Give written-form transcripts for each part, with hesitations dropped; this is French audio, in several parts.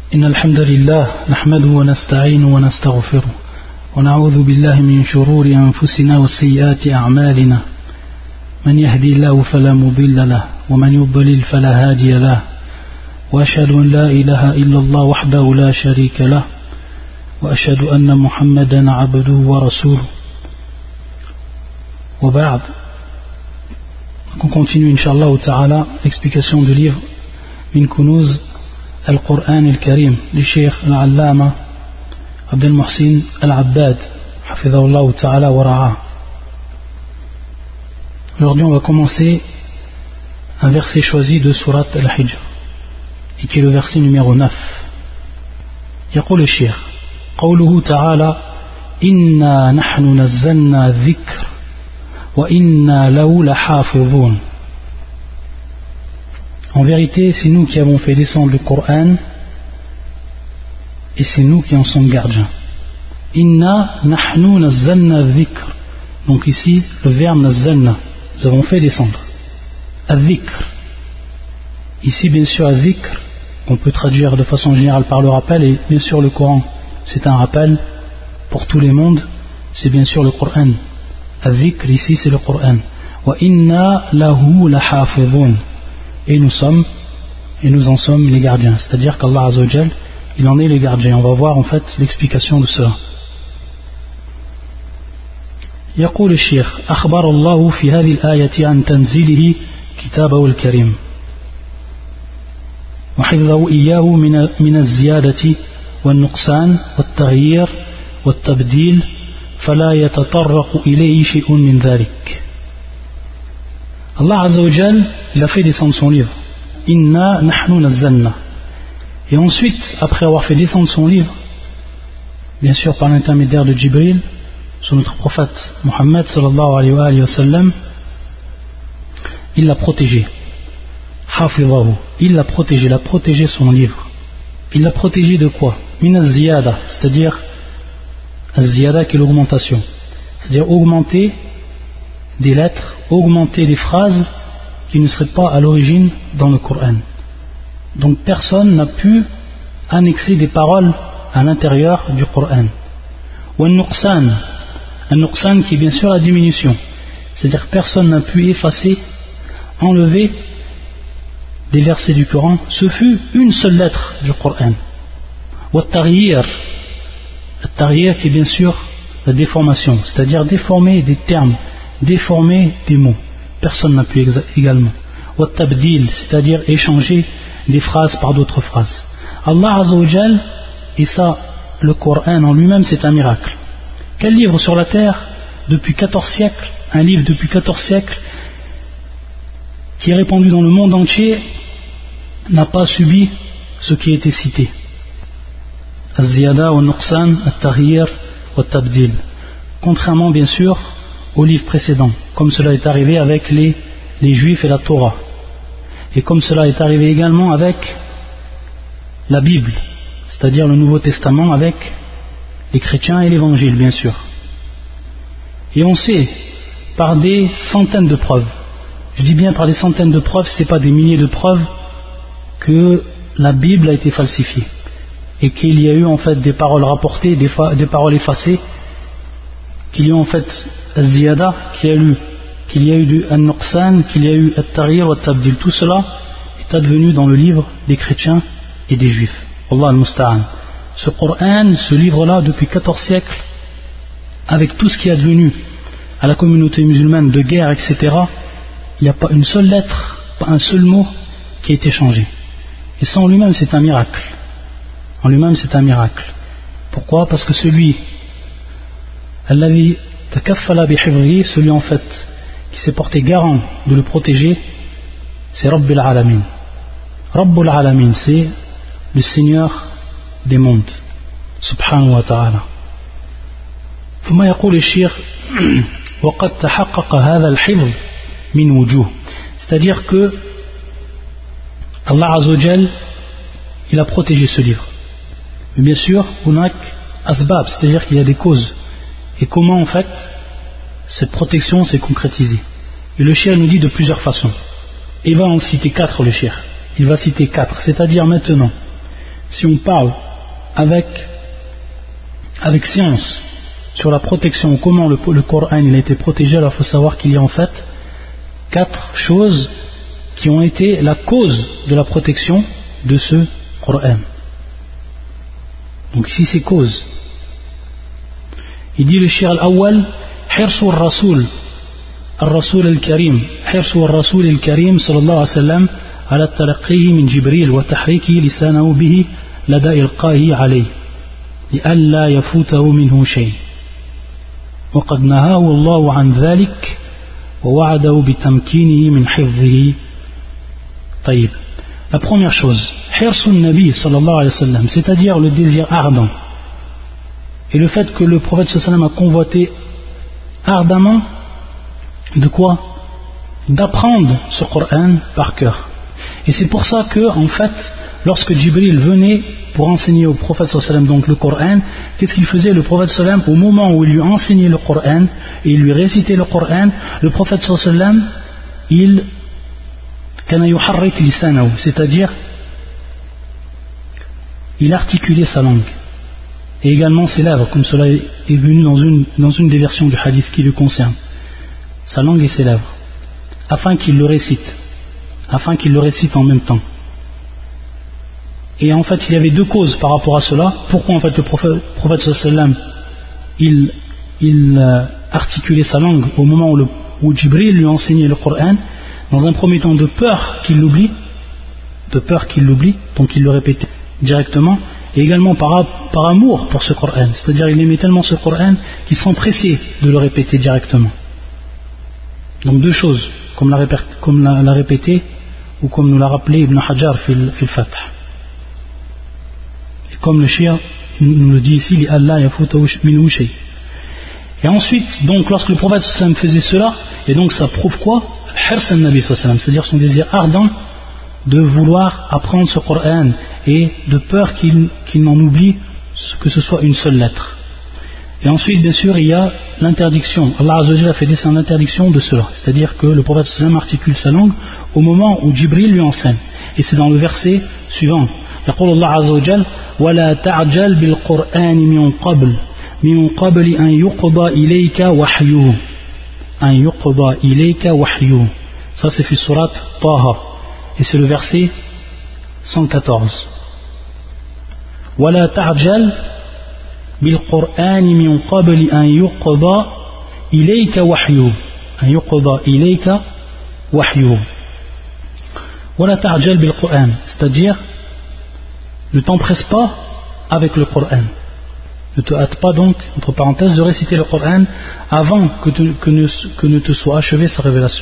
إن الحمد لله نحمده ونستعينه ونستغفره ونعوذ بالله من شرور أنفسنا وسيئات أعمالنا من يهدي الله فلا مضل له ومن يضلل فلا هادي له وأشهد أن لا إله إلا الله وحده لا شريك له وأشهد أن محمدا عبده ورسوله وبعد. On continue Inch'Allah ta'ala l'explication du livre Min Kunuz Al-Qur'an Al-Karim du Cheikh Al-Allama Abdel Muhsin Al-Abbad Hafidhahullah ta'ala wa ra'a. Aujourd'hui on va commencer un verset choisi de Surat Al-Hijr et qui est le verset numéro 9. يقول الشيخ قوله تعالى إنا نحن نزلنا الذكر وإنا له لحافظون. En vérité, c'est nous qui avons fait descendre le Coran et c'est nous qui en sommes gardiens. Inna nahnu nazzalna dhikr. Donc ici, le verbe nazzalna, nous avons fait descendre. Al-dhikr. Ici, bien sûr, al-dhikr, on peut traduire de façon générale par le rappel, et bien sûr, le Coran, c'est un rappel pour tous les mondes, c'est bien sûr le Coran. Al-dhikr, ici, c'est le Coran. Wa inna lahu lahafidhun. Et nous en sommes les gardiens. C'est-à-dire qu'Allah Azza wa Jal, il en est les gardiens. On va voir en fait l'explication de cela. يقول الشيخ أخبر الله في هذه الآية عن تنزيله كتابه الكريم وحفظه إياه من الزيادة والنقصان والتغيير والتبديل فلا يتطرق إليه شيء من ذلك. Allah Azza wa Jal, il a fait descendre son livre. Inna nahnu nazzalna. Et ensuite, après avoir fait descendre son livre, bien sûr par l'intermédiaire de Jibril, sur notre prophète Muhammad sallallahu alayhi wa sallam, il l'a protégé. Hafidhahu. Il l'a protégé son livre. Il l'a protégé de quoi? Min az-ziyada, c'est-à-dire az-ziyada qui est l'augmentation. C'est-à-dire augmenter des lettres, augmenter des phrases qui ne seraient pas à l'origine dans le Coran. Donc personne n'a pu annexer des paroles à l'intérieur du Coran. Ou un nuqsan qui est bien sûr la diminution, c'est-à-dire que personne n'a pu effacer, enlever des versets du Coran, ce fut une seule lettre du Coran. Ou at-taghyir qui est bien sûr la déformation, c'est-à-dire déformer des termes, déformer des mots, personne n'a pu également. Ou tabdil, c'est-à-dire échanger des phrases par d'autres phrases. Allah Azza wa Jal, et ça, le Coran en lui-même, c'est un miracle. Quel livre sur la terre, depuis 14 siècles, un livre depuis 14 siècles, qui est répandu dans le monde entier, n'a pas subi ce qui a été cité? Az-ziyada, al-nuqsan, al-taghyir, al-tabdil. Contrairement, bien sûr, aux livres précédents, comme cela est arrivé avec les Juifs et la Torah, et comme cela est arrivé également avec la Bible, c'est-à-dire le Nouveau Testament avec les chrétiens et l'Évangile, bien sûr. Et on sait par des centaines de preuves, je dis bien par des centaines de preuves, ce n'est pas des milliers de preuves, que la Bible a été falsifiée et qu'il y a eu en fait des paroles rapportées, des paroles effacées, qu'il y a eu en fait az-ziyada, qu'il y a eu du an-nuqsan, qu'il y a eu at-taghyir wa at-tabdil. Tout cela est advenu dans le livre des chrétiens et des juifs. Allah al-musta'an. Ce Coran, ce livre-là, depuis 14 siècles, avec tout ce qui est advenu à la communauté musulmane de guerre, etc., il n'y a pas une seule lettre, pas un seul mot qui a été changé. Et ça en lui-même c'est un miracle. En lui-même c'est un miracle. Pourquoi? Parce que celui celui en fait qui s'est porté garant de le protéger, c'est Rabbil Alamin. Rabbul Alamin, c'est le Seigneur des mondes, subhanahu wa ta'ala. ثم يقول الشيخ وقد تحقق هذا الحفظ من وجوه. C'est-à-dire que Allah Azza wa Jal, il a protégé ce livre. Mais bien sûr, hunak asbab, c'est-à-dire qu'il y a des causes. Et comment en fait cette protection s'est concrétisée? Et le cheikh nous dit de plusieurs façons. Il va en citer 4, le cheikh. Il va citer 4, c'est-à-dire maintenant si on parle avec science sur la protection, comment le Coran il a été protégé, alors il faut savoir qu'il y a en fait 4 choses qui ont été la cause de la protection de ce Coran. Donc ici c'est cause. Il dit le shir al-awwal, hirsu al-rasoul al-karim, hirsu al-rasoul al-karim sallallahu alayhi wa sallam ala talaqihi min Jibril wa tahriki lisanahu bihi lada ilqahi alayhi لئلا يفوته منه شيء وقد نهاه الله عن ذلك ووعده بتمكينه من حفظه. طيب. La première chose, hirsun nabi sallallahu alayhi wa sallam, c'est-à-dire le désir ardent et le fait que le prophète sallallahu alayhi wa sallam a convoité ardemment de quoi? D'apprendre ce Coran par cœur. Et c'est pour ça que en fait lorsque Jibril venait pour enseigner au prophète sallallahu alayhi wa sallam donc le Coran, qu'est-ce qu'il faisait le prophète sallallahu alayhi wa sallam? Au moment où il lui enseignait le Coran et il lui récitait le Coran, le prophète sallallahu alayhi wa sallam il kana yuharrik lisanahu, c'est-à-dire il articulait sa langue et également ses lèvres, comme cela est venu dans une des versions du hadith qui le concerne, sa langue et ses lèvres, afin qu'il le récite en même temps. Et en fait il y avait 2 causes par rapport à cela. Pourquoi en fait le prophète sallallahu alayhi wa sallam il articulait sa langue au moment où Jibril lui enseignait le Coran? Dans un premier temps de peur qu'il l'oublie, donc il le répétait directement, et également par amour pour ce Coran, c'est-à-dire il aimait tellement ce Coran qu'il s'empressait de le répéter directement. Donc 2 choses, comme l'a répété ou comme nous l'a rappelé Ibn Hajar fil Fath. Comme le shir nous le dit ici, li Allah yafutu minhu shay. Et ensuite, donc lorsque le prophète sallallahu alayhi wa sallam faisait cela, et donc ça prouve quoi? Hirs an-nabi sallallahu alayhi wa sallam, c'est-à-dire son désir ardent de vouloir apprendre ce Coran et de peur qu'il n'en oublie que ce soit une seule lettre. Et ensuite, bien sûr, il y a l'interdiction. Allah Azza wa Jalla a fait descendre l'interdiction de cela, c'est-à-dire que le prophète sallallahu alayhi wa sallam articule sa langue au moment où Jibril lui enseigne. Et c'est dans le verset suivant. يقول الله عز وجل ولا تعجل بالقرآن من قبل أن يقضى إليك وحيه. Ça c'est في surat Taha et c'est le verset 114. ولا تعجل بالقرآن من قبل أن يقضى إليك وحيه. ولا تعجل بالقرآن, c'est-à-dire ne t'empresse pas avec le Coran. Ne te hâte pas donc, entre parenthèses, de réciter le Coran avant que ne te soit achevée sa révélation.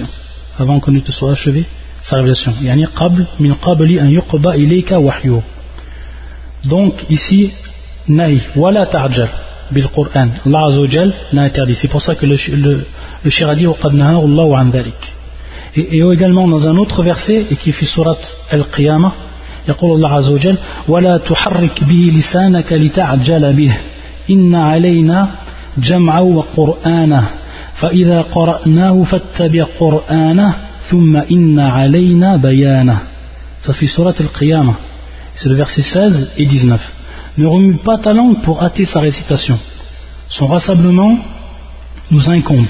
Yani min qabli an yuqda ilayka wahyu. Donc ici, nahi, wala ta'jal bil Coran. Allah Azza wa Jal l'a interdit. C'est pour ça que le shir a dit وَقَدْ نَهَاهُ اللَّهُ عَنْ ذَلِكَ. Et également dans un autre verset, et qui est fi surat Al-Qiyamah, يقول الله عز وجل ولا تحرك به لسانك لتعجل به إن علينا جمعه وقرآنه فإذا قرأناه فاتبع قرآنه ثم إن علينا بيانه. Ça fait surat Al-Qiyamah, c'est le verset 16 et 19. Ne remue pas ta langue pour hâter sa récitation, son rassemblement nous incombe,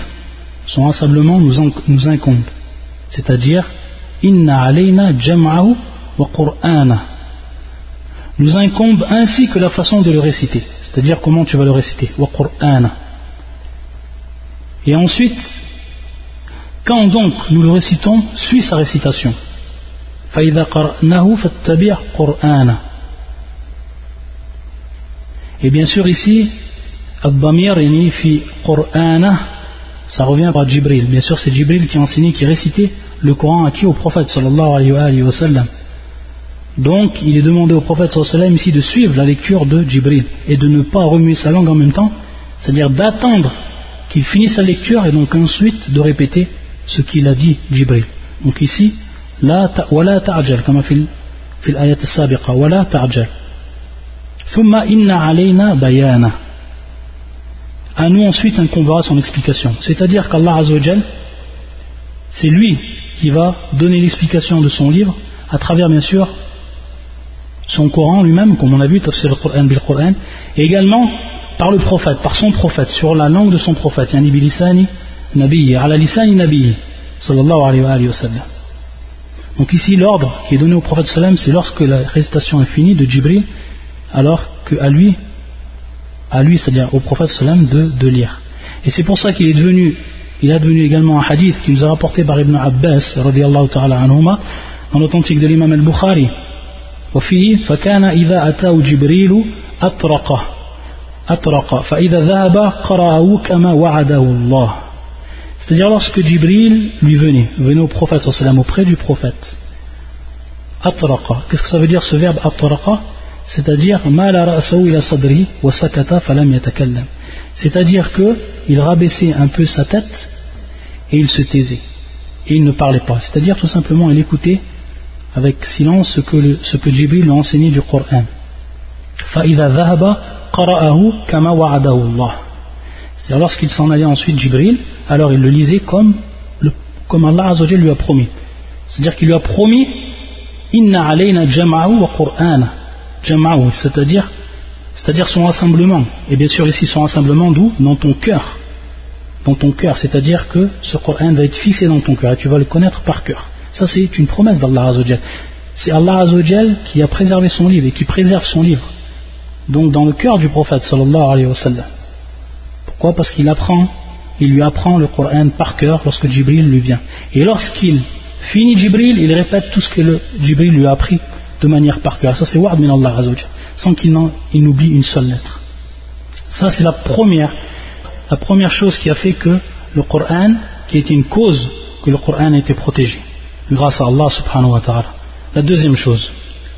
c'est-à-dire inna alayna jam'ahu wa qur'ana, nous incombe ainsi que la façon de le réciter, c'est-à-dire comment tu vas le réciter, wa qur'ana. Et ensuite, quand donc nous le récitons, suis sa récitation. Fa idha qara'nahu fattabi' qur'ana. Et bien sûr ici, ad-damir yani fi qur'ana, ça revient par Jibril. Bien sûr c'est Jibril qui enseignait, qui récitait le Coran à qui? Au prophète sallallahu alayhi wa sallam. Donc il est demandé au prophète sallallahu alayhi wa sallam ici de suivre la lecture de Jibril et de ne pas remuer sa langue en même temps, c'est-à-dire d'attendre qu'il finisse sa lecture et donc ensuite de répéter ce qu'il a dit Jibril. Donc ici, wala ta'jal, comme fil ayat as-sabiqa, wala ta'jal. Thumma inna alayna bayana. À nous ensuite incombera son explication. C'est-à-dire qu'Allah Azza wa Jal, c'est lui qui va donner l'explication de son livre à travers bien sûr son Coran lui-même, comme on a vu, tafsir al-Qur'an bil-Qur'an, et également par le prophète, par son prophète, sur la langue de son prophète, yani bilisani nabiyyi, ala lisani nabiyyi, sallallahu alayhi wa sallam. Donc ici, l'ordre qui est donné au prophète sallam, c'est lorsque la récitation est finie de Jibril, alors qu'à lui, c'est-à-dire au prophète sallam, de lire. Et c'est pour ça qu'il est devenu également un hadith qui nous a rapporté par Ibn Abbas, radiyallahu ta'ala anhuma, dans l'authentique de l'imam al-Bukhari. وفيه فكان إذا أتاه جبريل أطرق فإذا ذهب قرأه كما وعده الله. C'est-à-dire lorsque Jibril lui venait au prophète sallam, auprès du prophète. Atraqa. Qu'est-ce que ça veut dire ce verbe atraqa? C'est-à-dire mala ra'sahu ila sadri wa sakata falam yatakallam. C'est-à-dire que il rabaissait un peu sa tête et il se taisait et il ne parlait pas. C'est-à-dire tout simplement il écoutait avec silence ce que Jibril lui a enseigné du Coran. فَإِذَا ذَهَبَ قَرَأَهُ كَمَا وَعَدَهُ اللَّهُ. C'est-à-dire lorsqu'il s'en allait ensuite Jibril, alors il le lisait comme Allah Azza wa Jalla lui a promis. C'est-à-dire qu'il lui a promis Inna alayna jam'ahu wa qur'ana. Jam'ahu, c'est-à-dire son rassemblement. Et bien sûr ici son rassemblement d'où? Dans ton cœur. Dans ton cœur, c'est-à-dire que ce Coran va être fixé dans ton cœur et tu vas le connaître par cœur. Ça c'est une promesse d'Allah Azza wa Jalla. C'est Allah Azza wa Jalla qui a préservé son livre et qui préserve son livre. Donc dans le cœur du prophète sallallahu alayhi wa sallam. Pourquoi? Parce qu'il lui apprend le Coran par cœur lorsque Jibril lui vient. Et lorsqu'il finit Jibril, il répète tout ce que Jibril lui a appris de manière par cœur. Ça c'est wa'd min Allah Azza wa Jalla, sans qu'il n'oublie une seule lettre. Ça c'est la première chose qui a fait que le Coran, qui était une cause que le Coran a été protégé grâce à Allah subhanahu wa ta'ala. La deuxième chose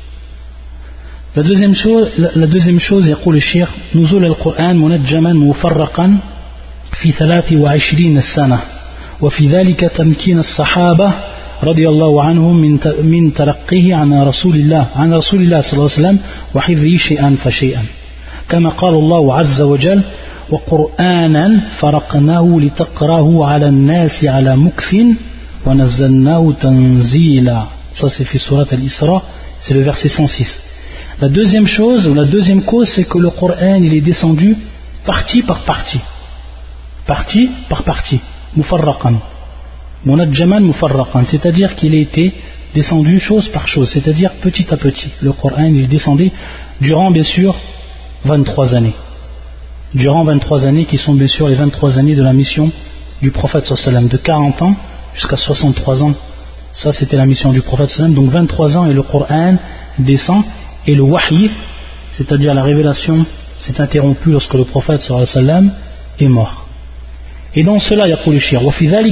يقول الشيخ نزول القرآن منجما مفرقا في 23 سنة وفي ذلك تمكين الصحابة رضي الله عنهم من تلقيه عن رسول الله صلى الله عليه وسلم وحفظه شيئا فشيئا كما قال الله عز وجل وقرآنا فرقناه لتقراه على الناس على مكث ونزلناه تنزيلا. Ça c'est fait surat al-Isra, c'est le verset 106. La deuxième chose, ou la deuxième cause, c'est que le Coran il est descendu partie par partie. Partie par partie. Mufarraqan. Munajjaman mufarraqan. C'est-à-dire qu'il a été descendu chose par chose. C'est-à-dire petit à petit. Le Coran il est descendu durant bien sûr 23 années. Durant 23 années qui sont bien sûr les 23 années de la mission du prophète sallallahu alayhi wa sallam. De 40 ans jusqu'à 63 ans. Ça c'était la mission du prophète sallallahu alayhi wa sallam. Donc 23 ans et le Coran descend. Et le wahy, c'est-à-dire la révélation, s'est interrompue lorsque le prophète sallallahu alayhi wa sallam est mort. Et dans cela, يقول الشيخ وفي ذلك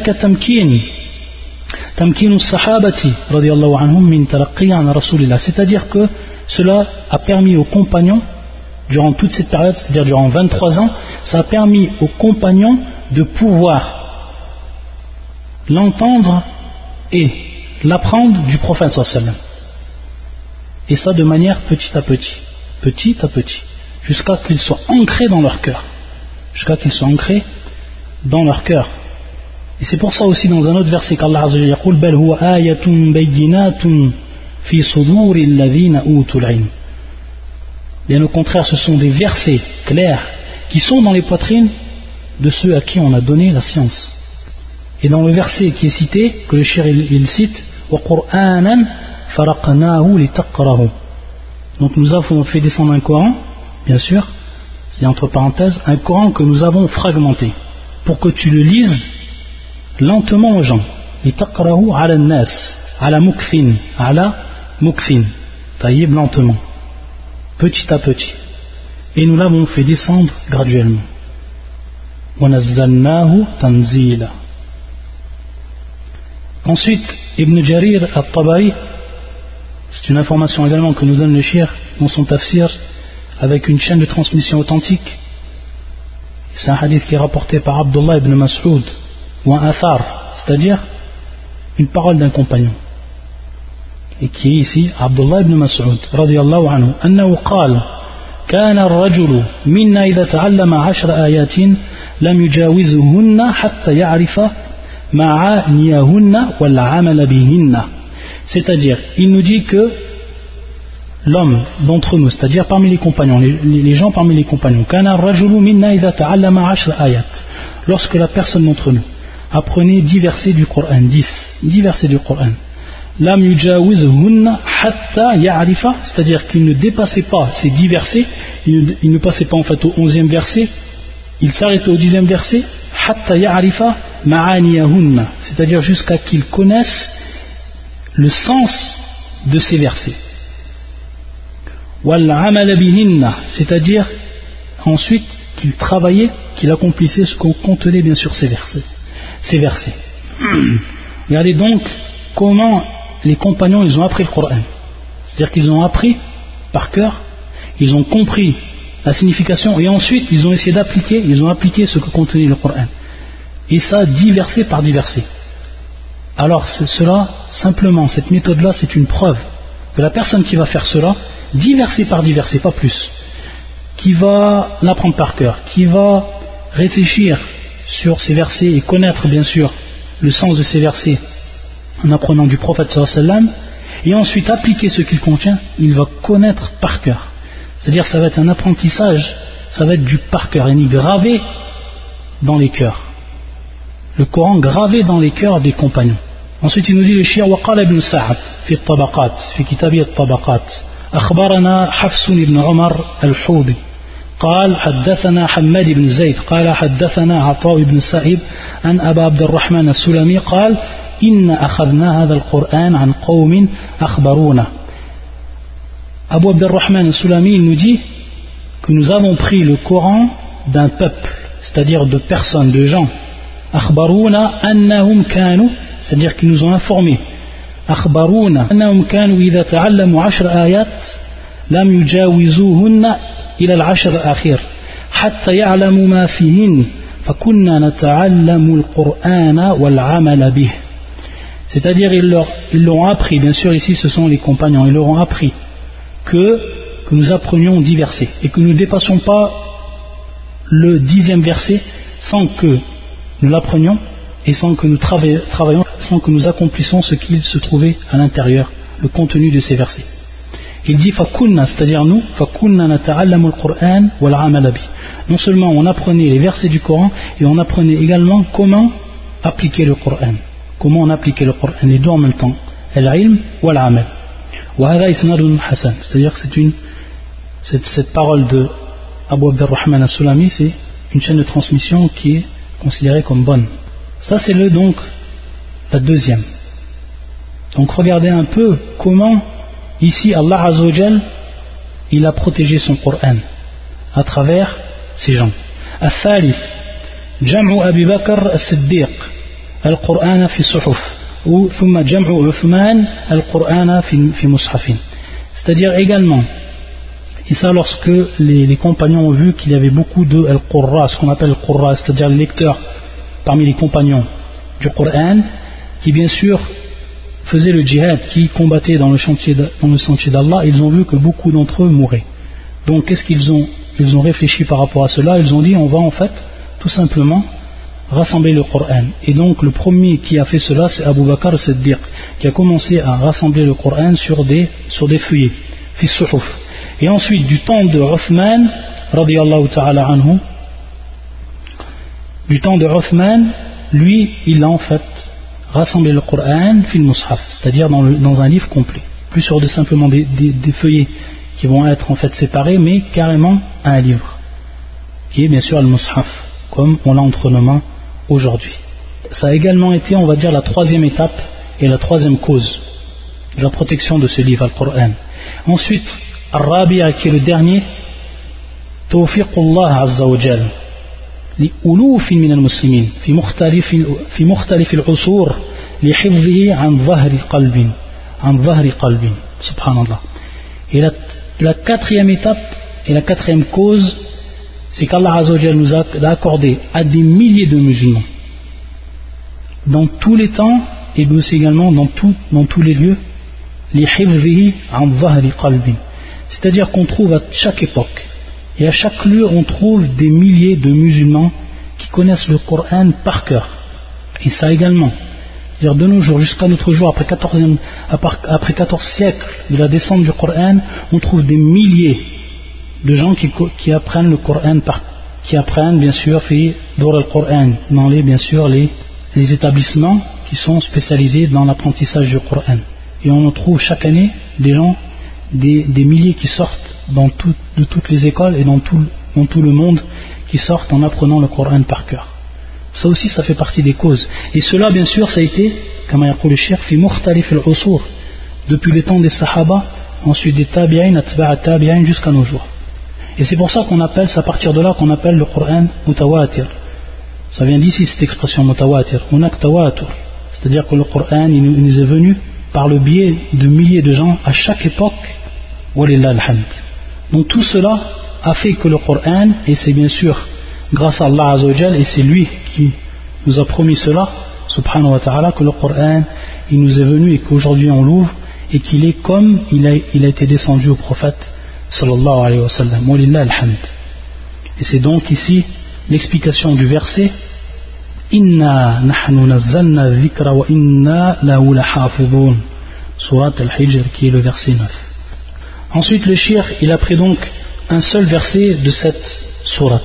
تمكين الصحابة رضي الله عنهم من تلقي عن رسول الله. C'est-à-dire que cela a permis aux compagnons, durant toute cette période, c'est-à-dire durant 23 ans, ça a permis aux compagnons de pouvoir l'entendre et l'apprendre du prophète sallallahu alayhi wa sallam. Et ça de manière petit à petit, jusqu'à qu'ils soient ancrés dans leur cœur. Et c'est pour ça aussi dans un autre verset qu'Allah Azza wa Jalla yaqul bal huwa ayatun bayyinatun fi suduril ladhina utul ilm. Bien au contraire, ce sont des versets clairs qui sont dans les poitrines de ceux à qui on a donné la science. Et dans le verset qui est cité, que le cheikh il cite, wa qur'anan faraqnahu litaqrahu. Donc nous avons fait descendre un Coran, bien sûr, c'est entre parenthèses, un Coran que nous avons fragmenté, pour que tu le lises lentement aux gens. Litaqrahu ala nas, ala mukfin, taillib lentement, petit à petit. Et nous l'avons fait descendre graduellement. Wa nazzalnahu tanzila. Ensuite, Ibn Jarir al-Tabari, c'est une information également que nous donne le cheikh dans son tafsir avec une chaîne de transmission authentique. C'est un hadith qui est rapporté par Abdullah ibn Mas'ud ou un athar, c'est-à-dire une parole d'un compagnon, et qui est ici Abdullah ibn Mas'ud radiyallahu anhu annahu qala كان الرجل منا إذا تعلم 10 آيات لم يجاوزهن حتى يعرف معانيهن والعمل بهن. C'est-à-dire, il nous dit que l'homme d'entre nous, c'est-à-dire parmi les compagnons, les gens parmi les compagnons, lorsque la personne d'entre nous apprenait 10 versets du Coran, 10 versets du Coran, c'est-à-dire qu'il ne dépassait pas ces 10 versets, il ne passait pas en fait au 11e verset, il s'arrêtait au 10e verset, c'est-à-dire jusqu'à qu'il connaisse le sens de ces versets. C'est-à-dire ensuite qu'il travaillait, qu'il accomplissait ce qu'on contenait bien sûr ces versets. Regardez donc comment les compagnons ils ont appris le Coran. C'est-à-dire qu'ils ont appris par cœur, ils ont compris la signification et ensuite ils ont essayé d'appliquer, ils ont appliqué ce que contenait le Coran. Et ça 10 versets par 10 versets. Alors cela, simplement, cette méthode-là, c'est une preuve que la personne qui va faire cela, 10 versets par 10 versets, pas plus, qui va l'apprendre par cœur, qui va réfléchir sur ces versets et connaître bien sûr le sens de ces versets en apprenant du prophète sallallahu alayhi wa sallam, et ensuite appliquer ce qu'il contient, il va connaître par cœur. C'est-à-dire ça va être un apprentissage, ça va être du par cœur, gravé dans les cœurs. Le Coran gravé dans les cœurs des compagnons. Ensuite il nous dit le shir وقال ابن سعد في الطبقات في كتابه الطبقات أخبرنا حفص بن عمر الحوضي قال حدثنا حماد بن زيد قال حدثنا عطاء بن سعيد عن أبا عبد الرحمن السلمي قال إن أخذنا هذا القرآن عن قوم أخبرونا. Abu Abd al-Rahman al-Sulami il nous dit que nous avons pris le Coran d'un peuple, c'est-à-dire de personnes, de gens. أخبرونا أنهم كانوا, c'est-à-dire qu'ils nous ont informés. أخبرونا أنهم كانوا إذا تعلموا 10 آيات لم يجاوزوهن إلى 10 الأخير حتى يعلموا ما فيهن فكنا نتعلم القرآن والعمل به. C'est-à-dire ils l'ont appris, bien sûr ici ce sont les compagnons, ils leur ont appris que nous apprenions 10 versets et que nous ne dépassions pas le 10e verset sans que nous l'apprenions et sans que nous travaillions, sans que nous accomplissions ce qu'il se trouvait à l'intérieur, le contenu de ces versets. Il dit fakunna, c'est-à-dire nous, fakunna nata'allamu al-Qur'an wal 'amal bi. Non seulement on apprenait les versets du Coran, et on apprenait également comment appliquer le Coran. Comment on appliquait le Coran, les deux en même temps, al-'ilm wal 'amal. Wa hadha isnadun hasan, c'est-à-dire que cette parole de Abu Abd al-Rahman al-Sulami, c'est une chaîne de transmission qui est considérée comme bonne. Ça c'est donc la deuxième. Donc regardez un peu comment ici Allah Azza wa Jal il a protégé son Coran à travers ces gens. الثالث جمع أبي بكر الصديق القرآن في الصحف ثم جمع عثمان القرآن في مصحف. C'est-à-dire également, et ça lorsque les compagnons ont vu qu'il y avait beaucoup de al-Qurra, ce qu'on appelle al-Qurra, c'est-à-dire les lecteurs parmi les compagnons du Coran, qui bien sûr faisaient le djihad, qui combattaient dans le sentier d'Allah, ils ont vu que beaucoup d'entre eux mouraient. Donc qu'est-ce qu'ils ont réfléchi par rapport à cela? Ils ont dit on va en fait tout simplement rassembler le Coran. Et donc le premier qui a fait cela c'est Abu Bakr as-Siddiq, qui a commencé à rassembler le Coran sur des feuillets, fi suhuf. Et ensuite du temps de Uthman radiyallahu ta'ala anhu, du temps de Uthman, lui il a en fait rassemblé le Coran fil mushaf, c'est-à-dire dans un livre complet, plus sur simplement des feuillets qui vont être en fait séparés, mais carrément un livre qui est bien sûr le mushaf comme on l'a entre nos mains aujourd'hui. Ça a également été, on va dire, la troisième étape et la troisième cause de la protection de ce livre, le Coran. Ensuite, Ar-Rabi'a, qui est le dernier, Tawfiqullah Azza wa Jal لألوف من المسلمين في مختلف العصور لحفظه عن ظهر قلب سبحان الله. Et la quatrième étape et la quatrième cause, c'est qu'Allah Azza wa Jal nous a accordé à des milliers de musulmans dans tous les temps et aussi également dans tous les lieux لحفظه عن ظهر قلب, c'est-à-dire qu'on trouve à chaque époque et à chaque lieu on trouve des milliers de musulmans qui connaissent le Coran par cœur. Et ça également, C'est-à-dire de nos jours jusqu'à notre jour, après 14 siècles de la descente du Coran, on trouve des milliers de gens qui apprennent le Coran, qui apprennent bien sûr le Coran, dans les établissements qui sont spécialisés dans l'apprentissage du Coran. Et on en trouve chaque année des gens, des milliers qui sortent de toutes les écoles et dans tout le monde, qui sortent en apprenant le Coran par cœur. Ça aussi, ça fait partie des causes. Et cela, bien sûr, ça a été, comme a dit le Cheikh, fi mukhtalif al-usur, depuis les temps des Sahaba, ensuite des Tabi'in, atba'a Tabi'in, jusqu'à nos jours. Et c'est pour ça qu'on appelle, c'est à partir de là qu'on appelle le Coran mutawatir. Ça vient d'ici cette expression mutawatir, hunak tawatur. C'est-à-dire que le Coran, il nous est venu par le biais de milliers de gens à chaque époque, walillah alhamd. Donc tout cela a fait que le Coran, et c'est bien sûr grâce à Allah Azza wa Jal, et c'est lui qui nous a promis cela, subhanahu wa ta'ala, que le Coran, il nous est venu et qu'aujourd'hui on l'ouvre, et qu'il est comme il a été descendu au prophète, sallallahu alayhi wa sallam, walillah alhamd. Et c'est donc ici l'explication du verset, Inna nahnu nazzalna dhikra wa inna lahu lahafidhun, surat al-Hijr, qui est le verset 9. Ensuite le Cheikh, il a pris donc un seul verset de cette surat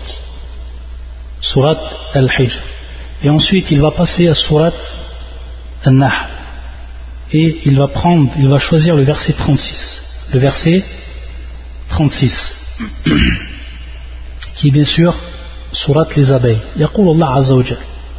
al-Hijr, et ensuite il va passer à surat al-Nahl, et il va choisir le verset 36, qui est bien sûr surat les abeilles. يقول الله عز وجل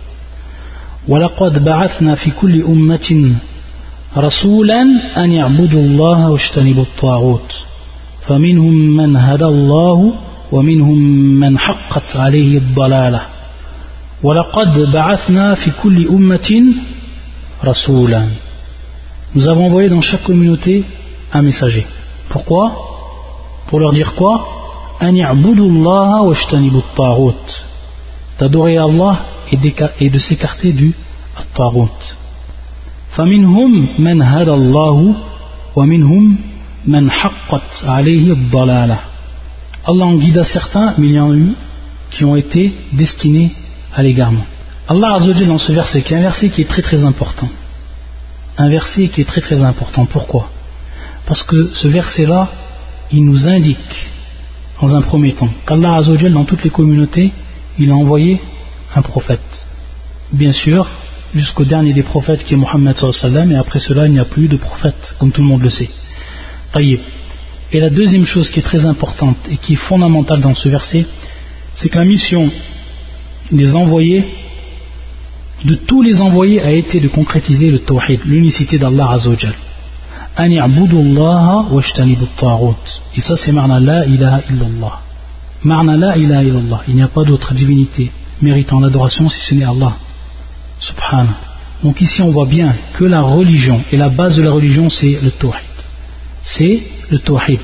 ولقد بعثنا في كل أمة رسولا أن يعبدوا الله واجتنبوا الطاغوت فمنهم من هدى الله ومنهم من حقت عليه الضلالة ولقد بعثنا في كل أمة رسولا. Nous avons envoyé dans chaque communauté un messager. Pourquoi? Pour leur dire quoi? أن يعبدوا الله واجتنبوا الطاغوت, d'adorer Allah et de s'écarter du الطاغوت. فمنهم من هدى الله ومنهم من حقت عليه الضلالة. Allah en guida certains, mais il y en a eu qui ont été destinés à l'égarement. Allah Azza wa Jalla dans ce verset, qui est un verset qui est très très important. Un verset qui est très très important. Pourquoi? Parce que ce verset-là, il nous indique, dans un premier temps, qu'Allah Azza wa Jalla, dans toutes les communautés, il a envoyé un prophète. Bien sûr, jusqu'au dernier des prophètes qui est Mohammed sallallahu alayhi wa sallam, et après cela, il n'y a plus de prophète, comme tout le monde le sait. Taïb. Et la deuxième chose qui est très importante et qui est fondamentale dans ce verset, c'est que la mission des envoyés, de tous les envoyés, a été de concrétiser le tawhid, l'unicité d'Allah Azza wa Jal. An ya'budu Allah wa ijtanibu at-taghut. Et ça c'est ma'na la ilaha illallah. Ma'na la ilaha illallah. Il n'y a pas d'autre divinité méritant l'adoration si ce n'est Allah. Subhanahu. Donc ici on voit bien que la religion, et la base de la religion c'est le tawhid. C'est le tawhid.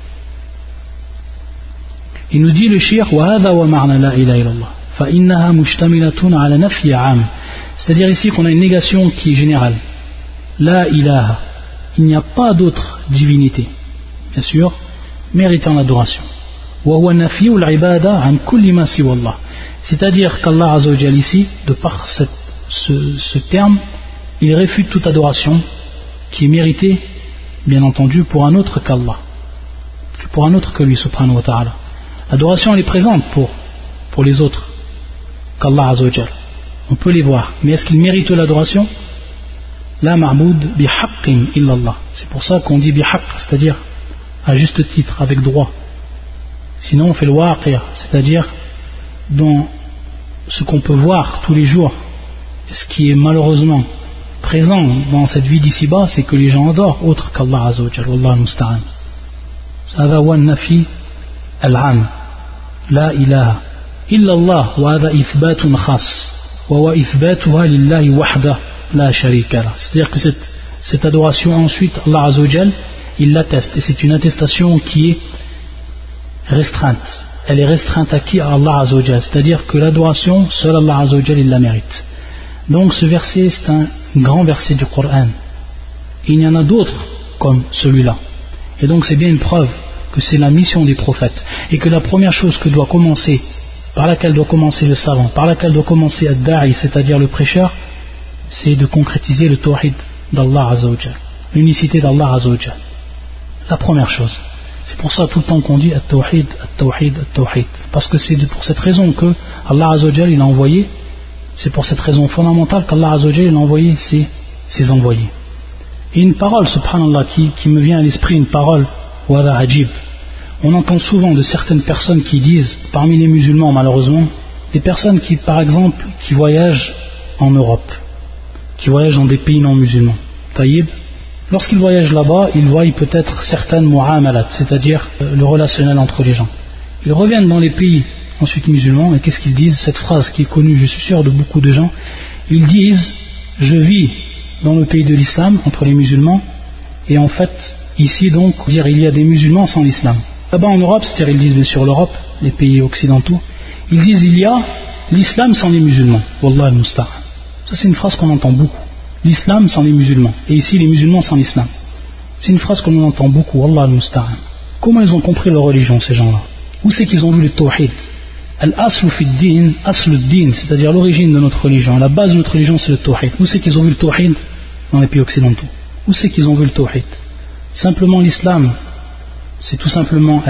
Il nous dit le shir wa hadha wa ma'na la ilaha illallah fa innaha mushtamilatun ala nafyi 'am. C'est-à-dire ici qu'on a une négation qui est générale. La ilaha, il n'y a pas d'autre divinité, bien sûr, méritant l'adoration. Wa huwa nafyu al-ibada 'an kulli ma siwa Allah. C'est-à-dire qu'Allah Azza wa Jalla ici, de par ce terme, il réfute toute adoration qui est méritée, bien entendu, pour un autre qu'Allah, pour un autre que lui, subhanahu wa ta'ala. L'adoration elle est présente pour les autres qu'Allah Azza wa Jalla. On peut les voir, mais est-ce qu'ils méritent l'adoration? La ma'boud bihaqqin illallah. C'est pour ça qu'on dit bihaqq, c'est-à-dire à juste titre, avec droit. Sinon on fait le waqi', c'est-à-dire dans ce qu'on peut voir tous les jours, ce qui est malheureusement présent dans cette vie d'ici-bas, c'est que les gens adorent autre qu'Allah Azza wa Jalla. Wallahu musta'an. هذا هو النفي العام. لا إله إلا الله, وهذا إثبات خاص, وهو إثباتها لله وحده لا شريك له. C'est-à-dire que cette adoration ensuite, Allah Azza wa Jalla, il l'atteste, et c'est une attestation qui est restreinte. Elle est restreinte à qui? À Allah Azza wa Jalla. C'est-à-dire que l'adoration, seul Allah Azza wa Jalla, il la mérite. Donc ce verset, c'est un grand verset du Coran. Il y en a d'autres comme celui-là. Et donc c'est bien une preuve que c'est la mission des prophètes. Et que la première chose que doit commencer, par laquelle doit commencer le savant, par laquelle doit commencer ad-da'i, c'est-à-dire le prêcheur, c'est de concrétiser le tawhid d'Allah Azza wa Jal, l'unicité d'Allah Azza wa Jal. La première chose. C'est pour ça tout le temps qu'on dit at-tawhid, at-tawhid, at-tawhid. Parce que c'est pour cette raison que Allah Azza wa Jal il a envoyé, c'est pour cette raison fondamentale qu'Allah Azza wa Jal il a envoyé ses envoyés. Et une parole, subhanallah, qui me vient à l'esprit, une parole, wala ajib. On entend souvent de certaines personnes qui disent, parmi les musulmans malheureusement, des personnes qui, par exemple, qui voyagent en Europe, qui voyagent dans des pays non musulmans. Taïb, lorsqu'ils voyagent là-bas, ils voient peut-être certaines mu'amalat, c'est-à-dire le relationnel entre les gens. Ils reviennent dans les pays ensuite musulmans, et qu'est-ce qu'ils disent? Cette phrase qui est connue, je suis sûr, de beaucoup de gens, ils disent, je vis dans le pays de l'islam, entre les musulmans, et en fait, ici donc, dire il y a des musulmans sans l'islam. Là-bas en Europe, c'est-à-dire ils disent bien sûr l'Europe, les pays occidentaux, ils disent il y a l'islam sans les musulmans. Wallah al-musta'an. Ça c'est une phrase qu'on entend beaucoup. L'islam sans les musulmans. Et ici les musulmans sans l'islam. C'est une phrase qu'on entend beaucoup. Wallah al-musta'an. Comment ils ont compris leur religion ces gens-là? Où c'est qu'ils ont vu le tawhid? Al-aslu fi din, aslu din, c'est-à-dire l'origine de notre religion. La base de notre religion c'est le tawhid. Où c'est qu'ils ont vu le tawhid dans les pays occidentaux? Où c'est qu'ils ont vu le tawhid? Simplement l'islam, c'est tout simplement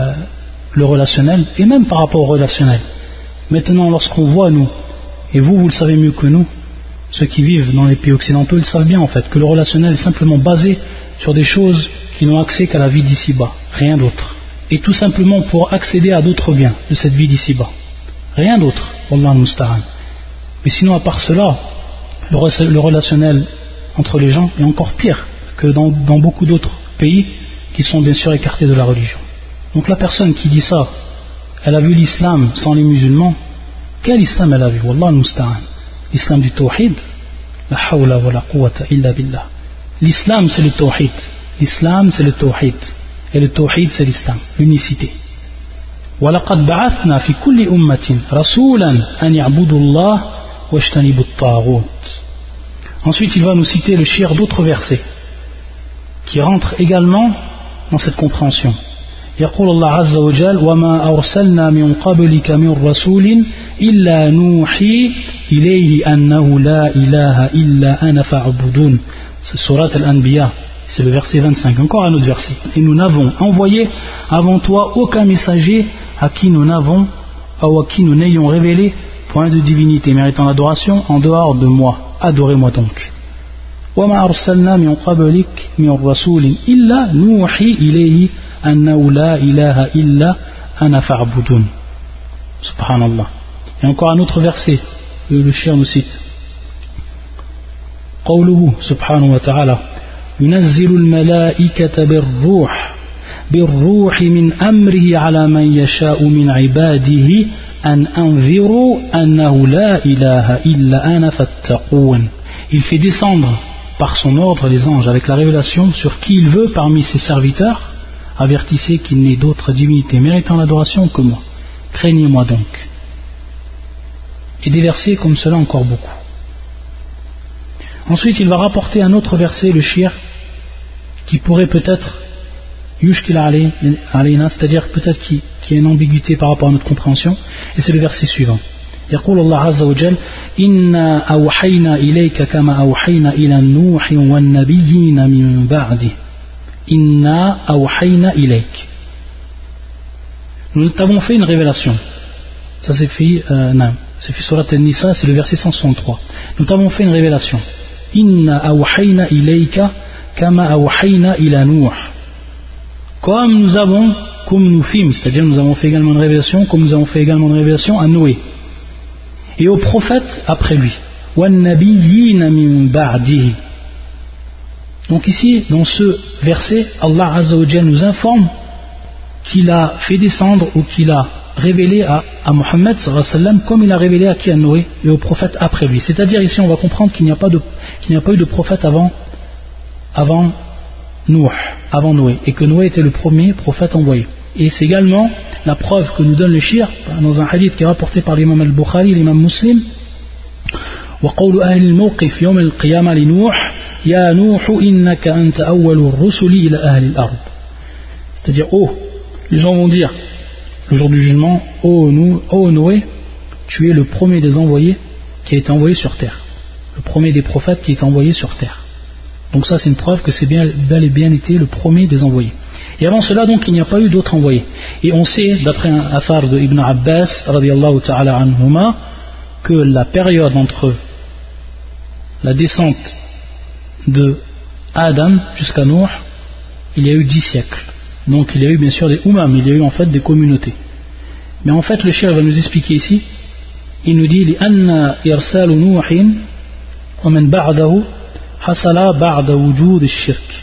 le relationnel, et même par rapport au relationnel. Maintenant, lorsqu'on voit, nous, et vous le savez mieux que nous, ceux qui vivent dans les pays occidentaux, ils savent bien en fait que le relationnel est simplement basé sur des choses qui n'ont accès qu'à la vie d'ici-bas, rien d'autre. Et tout simplement pour accéder à d'autres biens de cette vie d'ici-bas. Rien d'autre, Wallah al-musta'an. Mais sinon, à part cela, le relationnel entre les gens est encore pire que dans beaucoup d'autres pays qui sont bien sûr écartés de la religion. Donc la personne qui dit ça, elle a vu l'islam sans les musulmans. Quel islam elle a vu? Wallah al-musta'an. L'islam du tawhid, la hawla wa la quwwata illa billah. L'islam c'est le tawhid. L'islam c'est le tawhid. Et le tawhid c'est l'islam, l'unicité. وَلَقَدْ بَعَثْنَا فِي كُلِّ أُمَّةٍ رَسُولًا أَنْ يَعْبُدُوا اللَّهَ وَاجْتَنِبُوا الطَّاغُوتَ. Ensuite il va nous citer le shir d'autres versets qui rentrent également dans cette compréhension. يقول الله عز وجل وما أرسلنا من قبلك من رسول إلا نوحي إليه أنه لا إله إلا أنا فاعبدون. C'est Surat Al-Anbiya, c'est le verset 25. Encore un autre verset. Et nous n'avons envoyé avant toi aucun messager à qui nous n'ayons révélé point de divinité méritant l'adoration en dehors de moi. Adorez-moi donc. وما أرسلنا من قبلك من رسول إلا نوحي إليه أنه لا إله إلا أنا فاعبدون. Subhanallah. Et encore un autre verset, le shir nous cite. قوله سبحانه وتعالى ينزل الملائكة بالروح من أمره على من يشاء من عباده أن أنذروا أنه لا إله إلا أنا فاتقون. Il fait descendre par son ordre les anges avec la révélation sur qui il veut parmi ses serviteurs. Avertissez qu'il n'est d'autre divinité méritant l'adoration que moi. Craignez-moi donc. Et des versets comme cela encore beaucoup. Ensuite, il va rapporter un autre verset, le shir, qui pourrait peut-être yushkil alayna, c'est-à-dire peut-être qui a une ambiguïté par rapport à notre compréhension, et c'est le verset suivant. يقول الله عز وجل إنا أوحينا إليك كما أوحينا إلى نوح والنبيين من بعده إنا أوحينا إليك. Nous t'avons fait une révélation. Ça c'est fait Surat An-Nisa, c'est le verset 163. Nous t'avons fait une révélation. Inna awhayna ilayka kama awhayna ila Nuh. Comme nous fîmes, c'est-à-dire nous avons fait également une révélation, comme nous avons fait également une révélation à Noé et aux prophètes après lui. Wan nabiyyina min ba'dihi. Donc ici, dans ce verset, Allah Azza wa Jalla nous informe qu'il a fait descendre ou qu'il a révélé à Muhammad sallallahu alayhi wa sallam comme il a révélé à qui, à Noé et aux prophètes après lui. C'est-à-dire ici on va comprendre qu'il n'y a pas eu de prophète avant Noé, et que Noé était le premier prophète envoyé. Et c'est également la preuve que nous donne le shir dans un hadith qui est rapporté par l'imam al-Bukhari, l'imam Muslim. وقول أهل الموقف يوم القيامة لنوح يا نوح إنك أنت أول الرسل إلى أهل الأرض. C'est-à-dire, les gens vont dire le jour du jugement, Noé, tu es le premier des envoyés qui a été envoyé sur terre, le premier des prophètes qui est envoyé sur terre. Donc ça c'est une preuve que c'est bel et bien été le premier des envoyés. Et avant cela donc il n'y a pas eu d'autres envoyés. Et on sait d'après un athar de Ibn Abbas radiyallahu ta'ala anhuma que la période entre la descente de Adam jusqu'à Nuh, il y a eu 10 siècles. Donc il y a eu bien sûr des umam, il y a eu en fait des communautés. Mais en fait le cheikh va nous expliquer ici, il nous dit لأن إرسال نوح ومن بعده حصل بعد وجود الشرك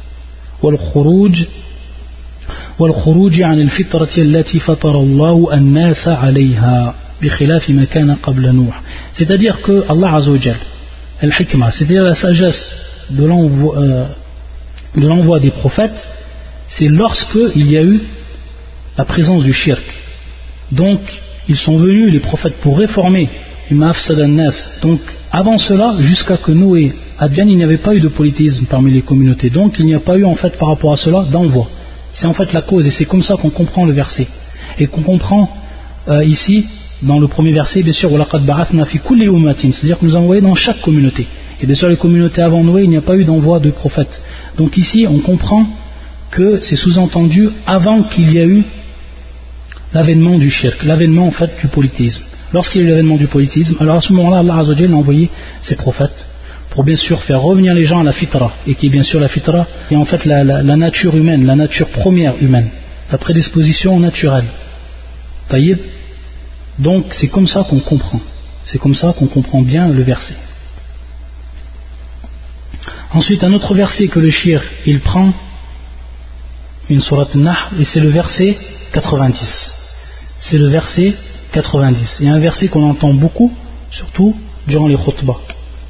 والخروج عن الفطرة التي فطر الله الناس عليها بخلاف ما كان قبل نوح. C'est-à-dire que Allah Azza wa Jal, al-hikmah, c'est-à-dire la sagesse de l'envoi des prophètes, c'est lorsque il y a eu la présence du shirk. Donc ils sont venus les prophètes pour réformer donc avant cela, jusqu'à que Noé advienne, il n'y avait pas eu de polythéisme parmi les communautés. Donc il n'y a pas eu en fait par rapport à cela d'envoi. C'est en fait la cause, et c'est comme ça qu'on comprend le verset. Et qu'on comprend ici, dans le premier verset, bien sûr, c'est-à-dire que nous avons envoyé dans chaque communauté. Et bien sûr les communautés avant Noé, il n'y a pas eu d'envoi de prophètes. Donc ici on comprend que c'est sous-entendu avant qu'il y ait eu l'avènement du shirk, l'avènement en fait du polythéisme. Lorsqu'il y a eu l'avènement du polythéisme, alors à ce moment-là, Allah Azza wa Jalla a envoyé ses prophètes pour bien sûr faire revenir les gens à la fitra, et qui est bien sûr la fitra, et en fait la nature humaine, la nature première humaine, la prédisposition naturelle. Taïb. Donc c'est comme ça qu'on comprend, c'est comme ça qu'on comprend bien le verset. Ensuite un autre verset que le shir il prend, une sourate Nahl, et c'est le verset 90. C'est le verset 90. Il y a un verset qu'on entend beaucoup, surtout durant les khutbahs.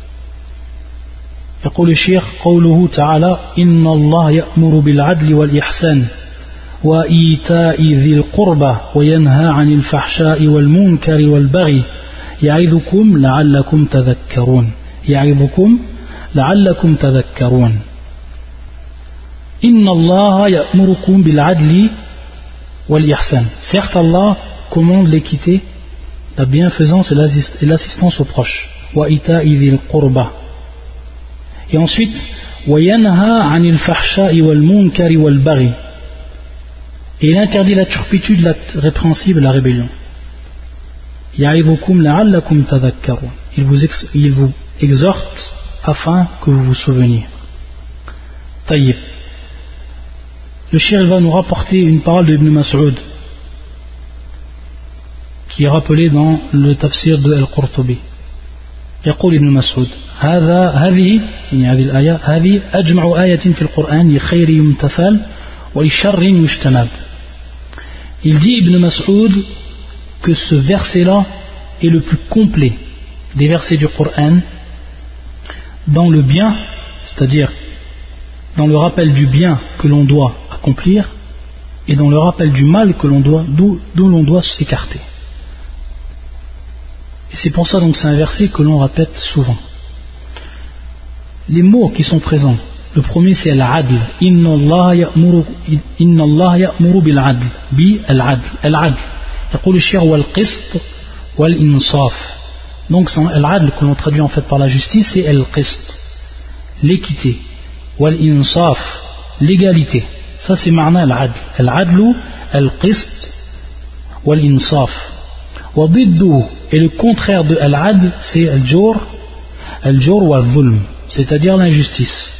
يقول الشيخ قوله تعالى إن الله يأمر بالعدل والإحسان وإيتاء ذي القربى وينهى عن الفحشاء والمنكر والبغي يعظكم لعلكم تذكرون يعظكم لعلكم تذكرون إن الله يأمركم بالعدل والإحسان. Certes Allah commande l'équité, la bienfaisance et l'assistance aux proches. وإيتاء ذي القربى. Et ensuite, وَيَنْهَا عَنِ الْفَحْشَاءِ وَالْمُنْكَرِ وَالْبَغِي. Et il interdit la turpitude, la répréhensible, la rébellion. يَعِظُكُمْ لَعَلَّكُمْ تَذَكَّرُونَ. Il vous exhorte afin que vous vous souveniez. Taïb. Le cheikh va nous rapporter une parole de Ibn Mas'ud qui est rappelée dans le tafsir de Al-Qurtubi. يقول ابن مسعود هذه الآية هذه أجمع آية في القرآن لخير يمتثل ولشر يجتنب. Il dit Ibn Mas'ud que ce verset-là est le plus complet des versets du Coran dans le bien, c'est-à-dire dans le rappel du bien que l'on doit accomplir et dans le rappel du mal que l'on doit, d'où l'on doit s'écarter. Et c'est pour ça donc c'est un verset que l'on répète souvent. Les mots qui sont présents, le premier c'est al-adl. Inna Allah ya'muru bil-adl. Bi al-adl. Al-adl. يقول الشيخ wal-qist wal-insaf. Donc al-adl que l'on traduit en fait par la justice, c'est al-qist, l'équité. Wal-insaf, l'égalité. Ça c'est ma'na al-adl. Al-adlu, al-qist wal-insaf. Et le contraire de al-adl, c'est al-jur wal-zulm, c'est-à-dire l'injustice.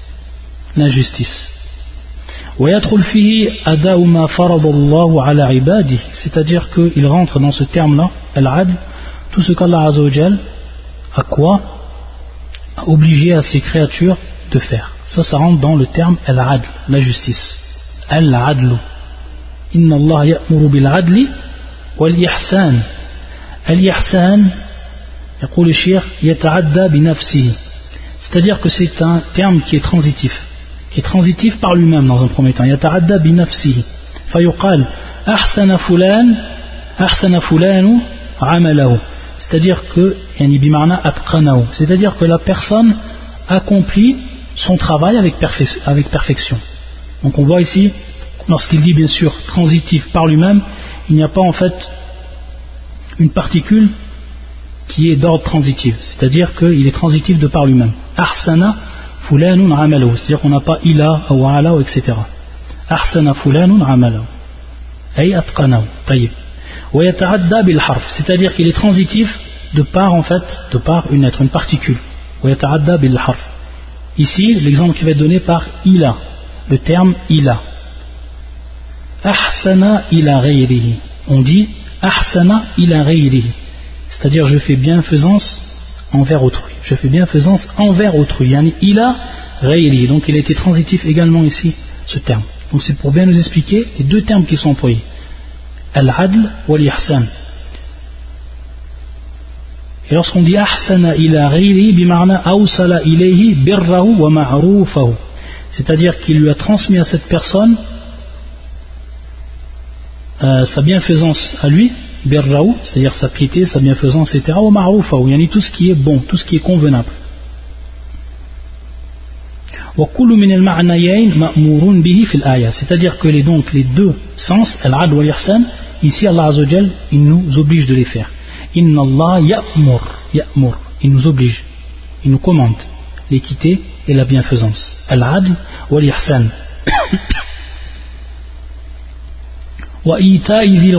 C'est-à-dire qu'il rentre dans ce terme-là, al-adl, tout ce qu'Allah Azza wa Jal a obligé à ses créatures de faire. Ça rentre dans le terme al-adl, la justice. Al-adlu. Inna Allah ya'muru bil-adli wal-ihsan. Al-ihsan, يقول الشيخ يتعدى بنفسه. C'est-à-dire que c'est un terme qui est transitif par lui-même dans un premier temps. يتعدى بنفسه. فيقال أحسن فلان عمله. C'est-à-dire que يعني بمعنى أتقنه. C'est-à-dire que la personne accomplit son travail avec perfection. Donc on voit ici, lorsqu'il dit bien sûr transitif par lui-même, il n'y a pas en fait une particule qui est d'ordre transitif, c'est-à-dire qu'il est transitif de par lui-même. Ahsana fulanun amalahu, c'est-à-dire qu'on n'a pas ila ou ala, etc. Ahsana fulanun amalahu, ay atqanahu, tayyib. Wa yata'adda bil harf, c'est-à-dire qu'il est transitif de par une lettre, une particule. Wa yata'adda bil harf. Ici, l'exemple qui va être donné par ila, le terme ila. Ahsana ila ghayrihi. On dit ahsana ila ghayrihi, c'est-à-dire je fais bienfaisance envers autrui. Je fais bienfaisance envers autrui. Yani ila ghayrihi. Donc il a été transitif également ici, ce terme. Donc c'est pour bien nous expliquer les deux termes qui sont employés. Al-adl wal-ihsan. Et lorsqu'on dit ahsana ila ghayrihi, bimarna awsala ilayhi birrahu wa ma'rufahu, c'est-à-dire qu'il lui a transmis à cette personne sa bienfaisance à lui, birrahu, c'est-à-dire sa piété, sa bienfaisance, etc. wa ma'rufahu, yani tout ce qui est bon, tout ce qui est convenable. Wa kullu min al-ma'nayayn ma'murun bihi fil aya, c'est-à-dire que les deux sens, al-adl wal ihsan, ici Allah Azza wa Jal, il nous oblige de les faire. Inna Allah ya'mur, il nous oblige, il nous commande l'équité et la bienfaisance. Al-adl wal ihsan. Wa ita'i dhil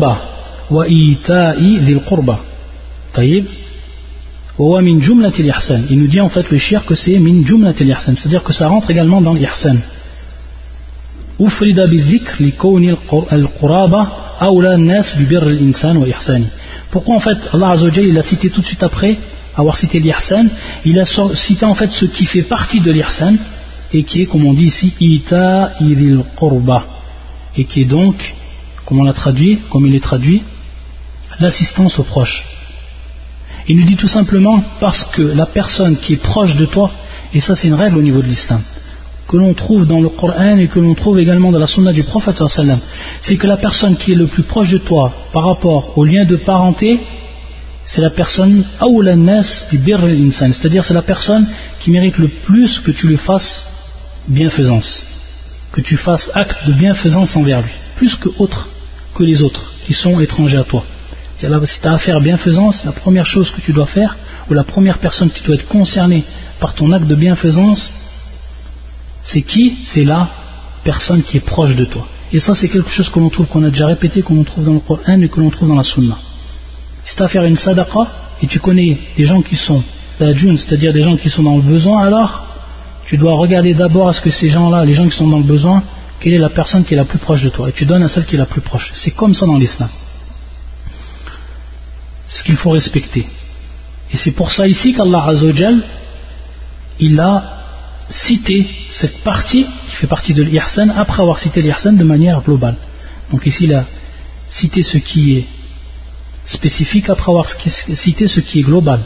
qurba, tayyib. Wa min jumlati al-ihsan, il nous dit en fait le shir que c'est min jumlati al-ihsan, c'est-à-dire que ça rentre également dans l'ihsan. Ufrida bi-dhikr li kawni al-quraba awla an-nas bi birr al-insan wa ihsani. Pourquoi en fait Allah Azza wa Jalla il a cité tout de suite après avoir cité l'ihsan, il a cité en fait ce qui fait partie de l'ihsan et qui est, comme on dit ici, ita'i dhil qurba, et qui est donc, comme il est traduit, l'assistance aux proches. Il nous dit tout simplement parce que la personne qui est proche de toi, et ça c'est une règle au niveau de l'islam, que l'on trouve dans le Coran et que l'on trouve également dans la sunna du prophète sallallahu alayhi wa sallam, c'est que la personne qui est le plus proche de toi par rapport au lien de parenté, c'est la personne awla nas bi birr al-insan, c'est-à-dire c'est la personne qui mérite le plus que tu lui fasses bienfaisance, que tu fasses acte de bienfaisance envers lui, plus que les autres qui sont étrangers à toi. Si tu as à faire bienfaisance, la première chose que tu dois faire, ou la première personne qui doit être concernée par ton acte de bienfaisance, c'est qui? C'est la personne qui est proche de toi. Et ça c'est quelque chose que l'on trouve, qu'on a déjà répété, qu'on trouve dans le Coran et que l'on trouve dans la Sunna. Si tu as à faire une sadaqa et tu connais des gens qui sont lajun, c'est-à-dire des gens qui sont dans le besoin, alors tu dois regarder d'abord à ce que ces gens-là, les gens qui sont dans le besoin, quelle est la personne qui est la plus proche de toi, et tu donnes à celle qui est la plus proche. C'est comme ça dans l'islam. C'est ce qu'il faut respecter. Et c'est pour ça ici qu'Allah Azza wa Jal, il a cité cette partie qui fait partie de l'ihsan après avoir cité l'ihsan de manière globale. Donc ici il a cité ce qui est spécifique après avoir cité ce qui est global.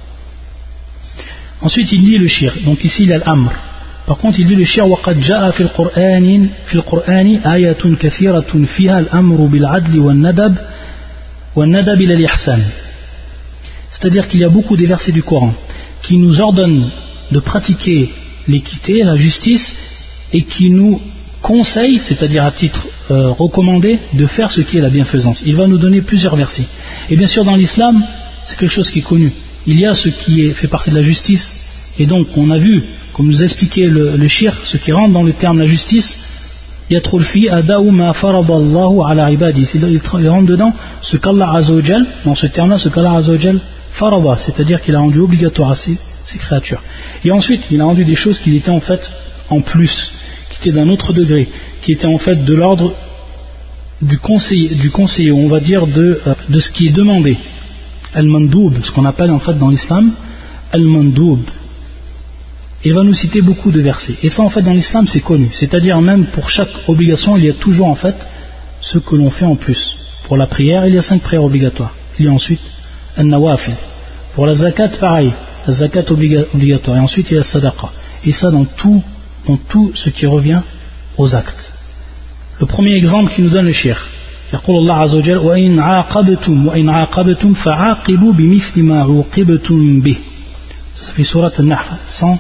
Ensuite il dit le shir, donc ici il y a l'amr. Par contre il dit le shir وَقَدْ جَاءَ فِي الْقُرْآنِ آيَةٌ كَثِيرَةٌ فِيهَا الْأَمْرُ بِالْعَدْلِ وَالنَّدَبِ إِلَى الْإِحْسَانِ. C'est-à-dire qu'il y a beaucoup des versets du Coran qui nous ordonnent de pratiquer l'équité, la justice, et qui nous conseille, c'est-à-dire à titre recommandé, de faire ce qui est la bienfaisance. Il va nous donner plusieurs versets. Et bien sûr dans l'islam, c'est quelque chose qui est connu. Il y a ce qui fait partie de la justice, et donc on a vu, comme nous expliquait le shir, ce qui rentre dans le terme la justice, yatrul fi ada'u ma faradallahu ala ibadi, il rentre dedans ce qu'Allah Azza wa Jal, dans ce terme-là, ce qu'Allah Azza wa Jal farada, c'est-à-dire qu'il a rendu obligatoire à ses créatures. Et ensuite, il a rendu des choses qui étaient en fait en plus, qui étaient d'un autre degré, qui étaient en fait de l'ordre du conseiller, on va dire de ce qui est demandé. Al-Mandoub, ce qu'on appelle en fait dans l'islam Al-Mandoub. Il va nous citer beaucoup de versets. Et ça en fait dans l'islam c'est connu. C'est-à-dire même pour chaque obligation il y a toujours en fait ce que l'on fait en plus. Pour la prière il y a 5 prières obligatoires. Il y a ensuite Al-Nawafil. Pour la zakat pareil. La zakat obligatoire. Et ensuite il y a la sadaqa. Et ça dans tout ce qui revient aux actes. Le premier exemple qui nous donne le cheikh. يقول الله عز وجل وإن عاقبتم فعاقبوا بمثل ما عوقبتم به. Ça fait surat An-Nahl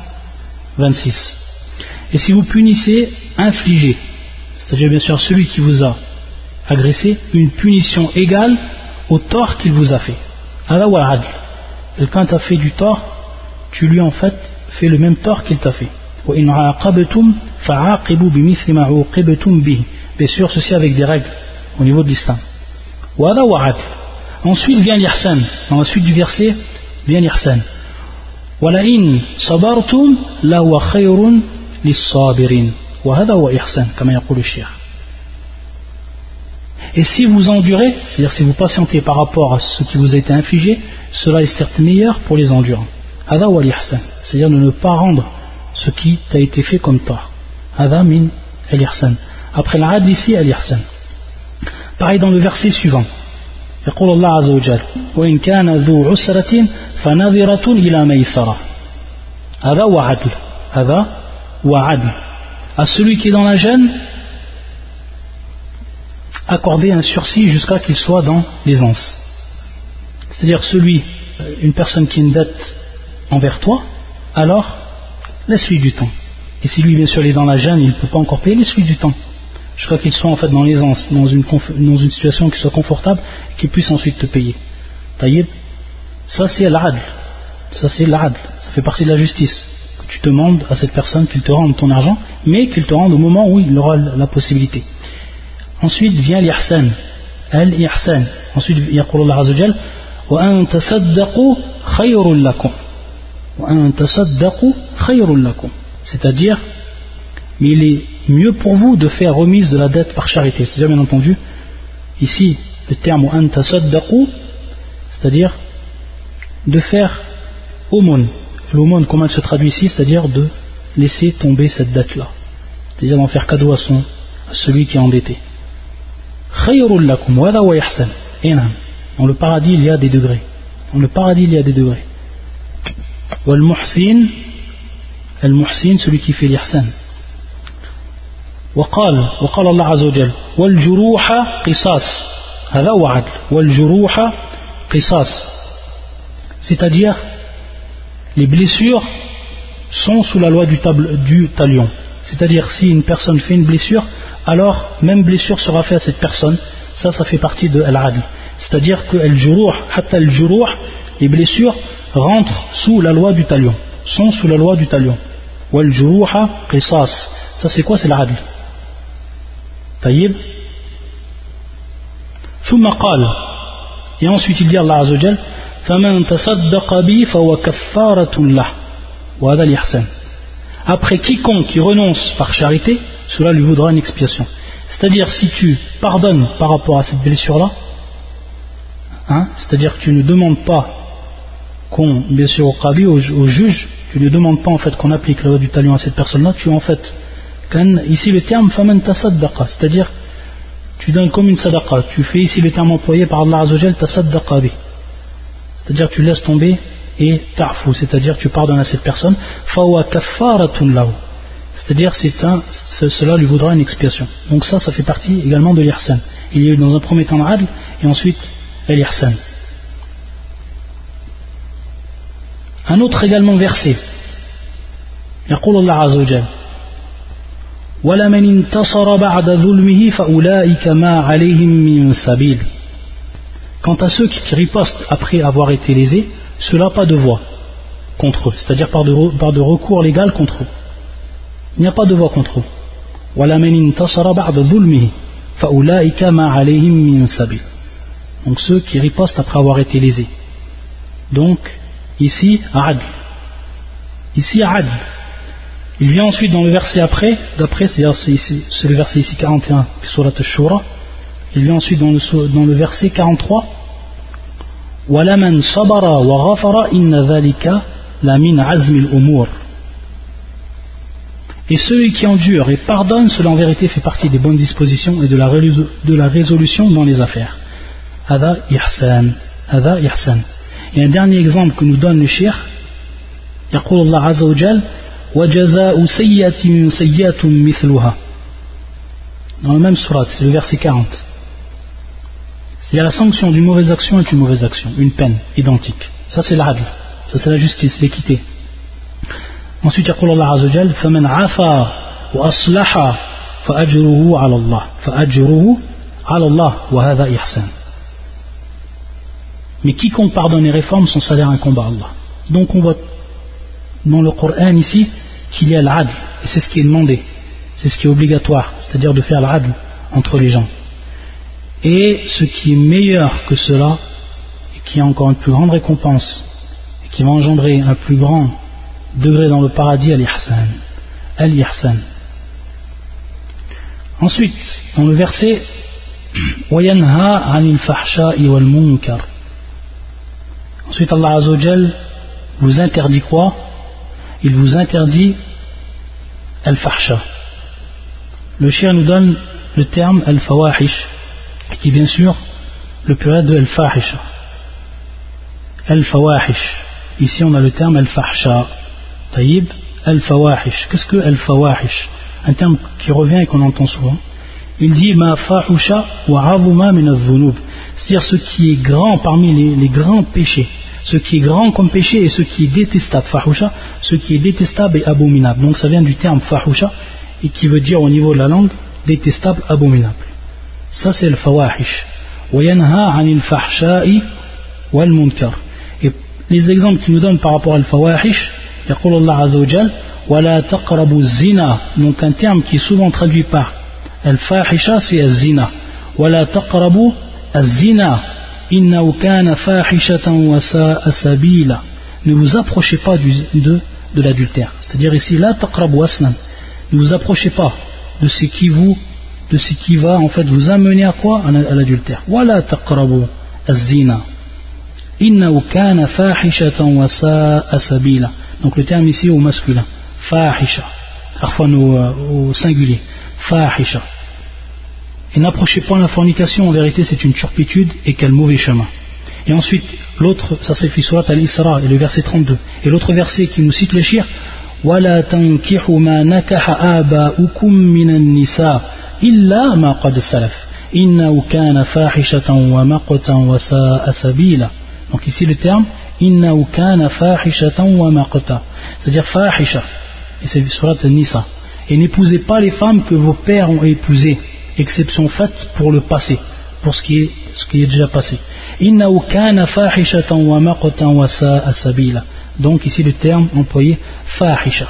126. Et si vous punissez, infligez, c'est-à-dire bien sûr celui qui vous a agressé, une punition égale au tort qu'il vous a fait. Hada wa adl. quelqu'un t'a fait du tort, tu lui en fait fais le même tort qu'il t'a fait. وَإِنْ عَاقَبْتُمْ فَعَاقِبُوا بِمِثْلِ مَا عُوقِبْتُمْ بِهِ. Bien sûr, ceci avec des règles au niveau de l'islam. وَهَذَا وَعَدْلٌ. Ensuite vient l'ihsan. Dans la suite du verset vient l'ihsan. وَلَئِنْ صَبَرْتُمْ لَهُوَ خَيْرٌ لِلصَّابِرِينَ وَهَذَا هُوَ إِحْسَانٌ كما يقول الشيخ. Et si vous endurez, c'est-à-dire si vous patientez par rapport à ce qui vous a été infligé, cela est certes meilleur pour les endurants. هذا هو الإحسان, c'est-à-dire de ne pas rendre ce qui t'a été fait comme tort. هذا من الإحسان. Après l'adl ici, al-ihsan. Pareil dans le verset suivant. يقول الله عز وجل وإن كان ذو عسرة فنظرة إلى ميسرة. هذا هو عدل. هذا هو عدل. À celui qui est dans la gêne, accorder un sursis jusqu'à qu'il soit dans l'aisance. C'est-à-dire une personne qui a une dette envers toi, alors laisse-lui du temps. Et si lui bien sûr il est dans la gêne, il ne peut pas encore payer, laisse-lui du temps. Jusqu'à qu'il soit en fait dans l'aisance, dans une situation qui soit confortable, et qu'il puisse ensuite te payer. Taïb, ça c'est l'adl. Ça c'est l'adl. Ça fait partie de la justice. Que tu demandes à cette personne qu'il te rende ton argent, mais qu'il te rende au moment où il aura la possibilité. Ensuite vient l'ihsan. Al-ihsan. Ensuite, yaqul Allah Azza wa Jal wa an tasaddaqu khayrun lakum. Wa an tasaddaqu khayrun lakum. C'est-à-dire, mais il est mieux pour vous de faire remise de la dette par charité. C'est-à-dire, bien entendu, ici, le terme wa an tasaddaqu, c'est-à-dire de faire aumône. L'aumône, comment elle se traduit ici? C'est-à-dire de laisser tomber cette dette-là. C'est-à-dire d'en faire cadeau à celui qui est endetté. Khayrun lakum, wa wa ihsan. Dans le paradis, il y a des degrés. Dans le paradis, il y a des degrés. Wal muhsin, al-muhsin, celui qui fait l'ihsan. وقال الله عز وجل والجروح قصاص هذا هو عدل والجروح قصاص, c'est-à-dire les blessures sont sous la loi du talion. C'est-à-dire si une personne fait une blessure, alors même blessure sera faite à cette personne. Ça fait partie de al-adl. C'est-à-dire que hatta al-juruh, les blessures rentrent sous la loi du talion, sont sous la loi du talion. Wal-juruha qisas. Ça c'est quoi? C'est l'adl. Taïb. Thumma qal. Et ensuite il dit Allah Azza wa Jal faman tasaddaqa bi fa huwa kaffaratun lah. Wa hadha al-ihsan. Après quiconque qui renonce par charité, cela lui vaudra une expiation. C'est-à-dire si tu pardonnes par rapport à cette blessure-là, c'est-à-dire que tu ne demandes pas bien sûr au qadi, au juge, tu ne demandes pas en fait qu'on applique la loi du talion à cette personne-là, tu en fait, ici le terme faman tasaddaqa, c'est-à-dire tu donnes comme une sadaqa, tu fais ici le terme employé par Allah Azza wa Jal tasaddaqa bi, c'est-à-dire tu laisses tomber et ta'fu, c'est-à-dire tu pardonnes à cette personne, fawa kaffaratun lahu, c'est-à-dire cela lui vaudra une expiation. Donc ça fait partie également de l'ihsan. Il y a eu dans un premier temps l'adl et ensuite l'ihsan. Un autre également verset. يقول الله عز وجل ولمن انتصر بعد ظلمه فأولئك ما عليهم من سبيل. Quant à ceux qui ripostent après avoir été lésés, cela pas de voie contre eux, c'est-à-dire par de recours légal contre eux. Il n'y a pas de voie contre eux. وَلَمَنِ انْتَصَرَ بَعْدَ ظُلْمِهِ فَأُولَٰئِكَ مَا عَلَيْهِمْ مِنْ سَبِيلٍ. Donc ceux qui ripostent après avoir été lésés. Donc ici adl. Ici adl. Il vient ensuite dans le verset d'après, c'est le verset ici 41 surat al-Shura. Il vient ensuite dans le verset 43. وَلَمَنْ صَبَرَ وَغَفَرَ إِنَّ ذَلِكَ لَمِنْ عَزْمِ الْأُمُورِ. Et celui qui endure et pardonne, cela en vérité fait partie des bonnes dispositions et de la résolution dans les affaires. Hada ihsan. Hada ihsan. Et un dernier exemple que nous donne le cheikh, يقول الله عز وجل وجزاء سيئة سيئة مثلها. Dans la même sourate, c'est le verset 40. C'est-à-dire la sanction d'une mauvaise action est une mauvaise action, une peine identique. Ça c'est l'adl, ça c'est la justice, l'équité. Ensuite, يقول الله عز وجل فمن عفا وأصلح فأجره على الله فأجره على الله وهذا إحسان. Mais quiconque pardonne et réforme, son salaire incombe à Allah. Donc on voit dans le Coran ici qu'il y a l'adl, et c'est ce qui est demandé, c'est ce qui est obligatoire, c'est-à-dire de faire l'adl entre les gens. Et ce qui est meilleur que cela, et qui a encore une plus grande récompense, et qui va engendrer un plus grand degré dans le paradis, al-ihsan. Al-ihsan. Ensuite, dans le verset وَيَنْهَا عَنِ الْفَحْشَاءِ وَالْمُنْكَرِ. Ensuite, Allah Azza wa Jal vous interdit quoi? Il vous interdit al-fahsha. Le shir nous donne le terme al-fawahish, qui est bien sûr le pluriel de al-fahisha. Al-fawahish. Ici, on a le terme al-fahsha. Taïb, al-fawahish. Qu'est-ce que al-fawahish? Un terme qui revient et qu'on entend souvent. Il dit ma fahusha wa azuma min adh-dhunub. C'est-à-dire ce qui est grand parmi les grands péchés. Ce qui est grand comme péché et ce qui est détestable. Fahusha, ce qui est détestable et abominable. Donc ça vient du terme fahusha et qui veut dire au niveau de la langue détestable, abominable. Ça c'est le fawahish. Wa yanha 'anil fahsha'i wal munkar. Et les exemples qu'il nous donne par rapport à al-fawahish, yaqul Allah Azza wa Jal wa la taqrabu zina. Donc un terme qui est souvent traduit par al-fahisha, c'est az-zina. Wa la taqrabu az-zina. Innahu kana fahishatan wa sa'a sabila. Ne vous approchez pas de l'adultère. C'est-à-dire ici la taqrabu aslan. Ne vous approchez pas de ce qui va en fait vous amener à quoi? À l'adultère. Wa la taqrabu az-zina. Innahu kana fahishatan wa sa'a sabila. Donc le terme ici au masculin. Fahisha. Parfois au singulier. Fahisha. Et n'approchez pas la fornication, en vérité c'est une turpitude et quel mauvais chemin. Et ensuite, l'autre, ça c'est Surat al-Isra, et le verset 32. Et l'autre verset qui nous cite le shir, وَلَا تَنْكِحُوا مَا نَكَحَ آبَاؤُكُمْ مِنَ النِّسَاءِ إِلَّا مَا قَدْ سَلَفَ إِنَّهُ كَانَ فَاحِشَةً وَمَقْتًا وَسَاءَ سَبِيلًا. Donc ici le terme, إِنَّهُ كَانَ فَاحِشَةً وَمَقْتًا. C'est-à-dire fahisha, et c'est Surat al-Nisa. Et n'épousez pas les femmes que vos pères ont épousées. Exception faite pour le passé, pour ce qui est déjà passé. Innahu kana fahishatan wa maqtan wa sa'a sabila. Donc ici le terme employé fahisha.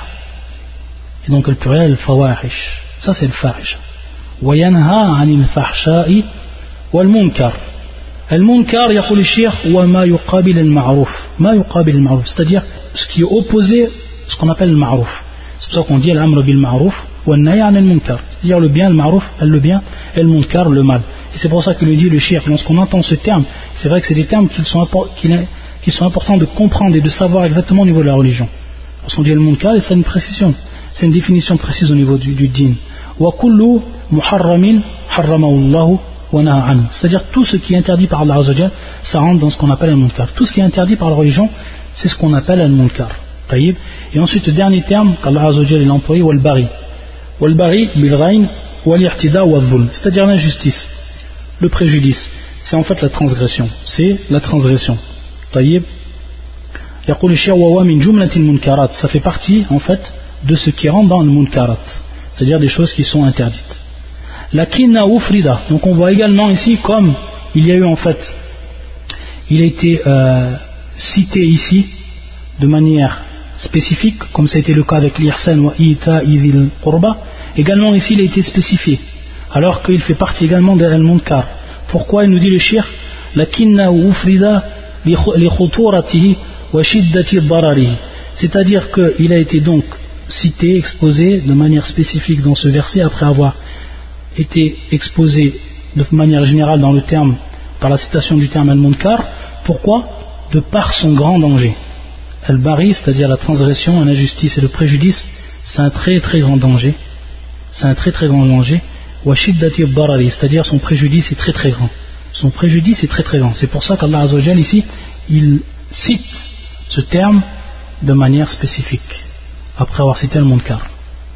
Et donc le pluriel fawahish. Ça c'est le fahisha. Wa yanha 'anil fahsha'i wal munkar. Al munkar yaqul al-shaykh wa ma yuqabil al ma'ruf. Ma yuqabil al ma'ruf, c'est-à-dire ce qui est opposé ce qu'on appelle le ma'ruf. C'est pour ça qu'on dit al-amr bil ma'ruf wa an-nahy 'anil munkar. C'est-à-dire le bien, le ma'ruf, le bien, et le munkar, le mal. Et c'est pour ça que le dit le shir, lorsqu'on entend ce terme, c'est vrai que c'est des termes qui sont importants de comprendre et de savoir exactement au niveau de la religion. Lorsqu'on dit le munkar, c'est une précision, c'est une définition précise au niveau du din. Wa kullu muharramin harramahu Allah wa naha anhu. C'est-à-dire tout ce qui est interdit par Allah Azza wa Jal, ça rentre dans ce qu'on appelle le munkar. Tout ce qui est interdit par la religion, c'est ce qu'on appelle le munkar. Taïb. Et ensuite le dernier terme qu'Allah Azza wa Jal a employé, wal bari. Wal bari bil ghayn. C'est-à-dire l'injustice, le préjudice, c'est en fait la transgression, c'est la transgression. Taïb, yaqul ash-shaykh wa min jumlatil munkarat, ça fait partie en fait de ce qui rentre dans le munkarat, c'est-à-dire des choses qui sont interdites. Lakinna ufrida, donc on voit également ici comme il y a eu en fait, il a été cité ici de manière spécifique, comme ça a été le cas avec l'ihsan wa ita'i dhil qurba. Également ici il a été spécifié, alors qu'il fait partie également de al-munkar. Pourquoi il nous dit le shir lakinna ufrida li khuturatihi wa shiddati dararihi, c'est-à-dire qu'il a été donc cité, exposé de manière spécifique dans ce verset après avoir été exposé de manière générale dans le terme, par la citation du terme al-munkar. Pourquoi? De par son grand danger. Al-bari, c'est-à-dire la transgression, l'injustice et le préjudice, c'est un très très grand danger. C'est un très très grand danger. Wa shiddati darari, c'est-à-dire son préjudice est très très grand. Son préjudice est très très grand. C'est pour ça qu'Allah Azza wa Jal ici, il cite ce terme de manière spécifique, après avoir cité le munkar.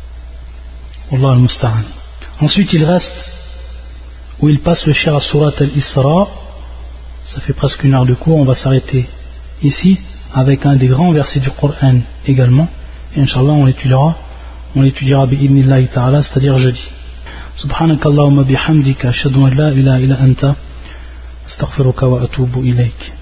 Wallah al-musta'an. Ensuite il reste, où il passe le shir à Surat al-Isra. Ça fait presque une heure de cours, on va s'arrêter ici, avec un des grands versets du Coran également. Et Inch'Allah on l'étudiera bi'idnillahi ta'ala, c'est-à-dire jeudi. Subhanakallahumma bihamdika ashhadu an la ilaha illa anta astaghfiruka wa atubu ilayk.